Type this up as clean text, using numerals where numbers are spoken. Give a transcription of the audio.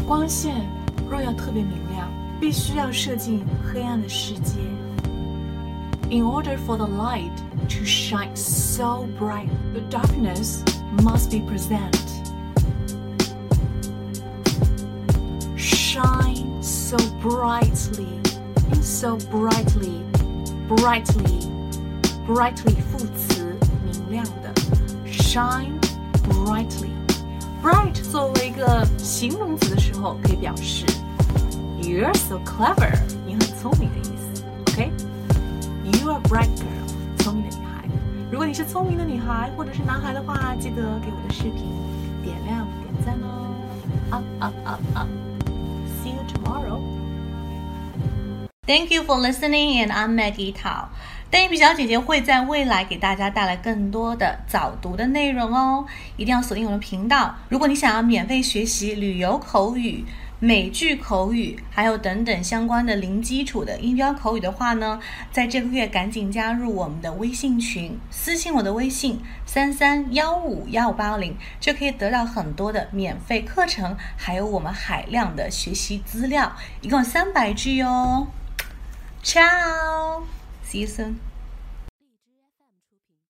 光线若要特别明亮，必须要射进黑暗的世界。In order for the light to shine so bright, the darkness must be present. Shine so brightly, so brightly, brightly, brightly 副词，明亮的。Shine brightly. Bright 作为一个形容词的时候，可以表示 You're so clever, 你很聪明的意思。OK？You are a bright girl， 聪明的女孩。如果你是聪明的女孩或者是男孩的话，记得给我的视频点亮点赞哦。Up, up, up, up. See you tomorrow. Thank you for listening, and I'm Maggie Tao. 单眼皮小姐姐会在未来给大家带来更多的早读的内容哦，一定要锁定我的频道。如果你想要免费学习旅游口语、美剧口语，还有等等相关的零基础的音标口语的话呢，在这个月赶紧加入我们的微信群，私信我的微信33151580，就可以得到很多的免费课程，还有我们海量的学习资料，一共300句哦。Ciao! See you soon.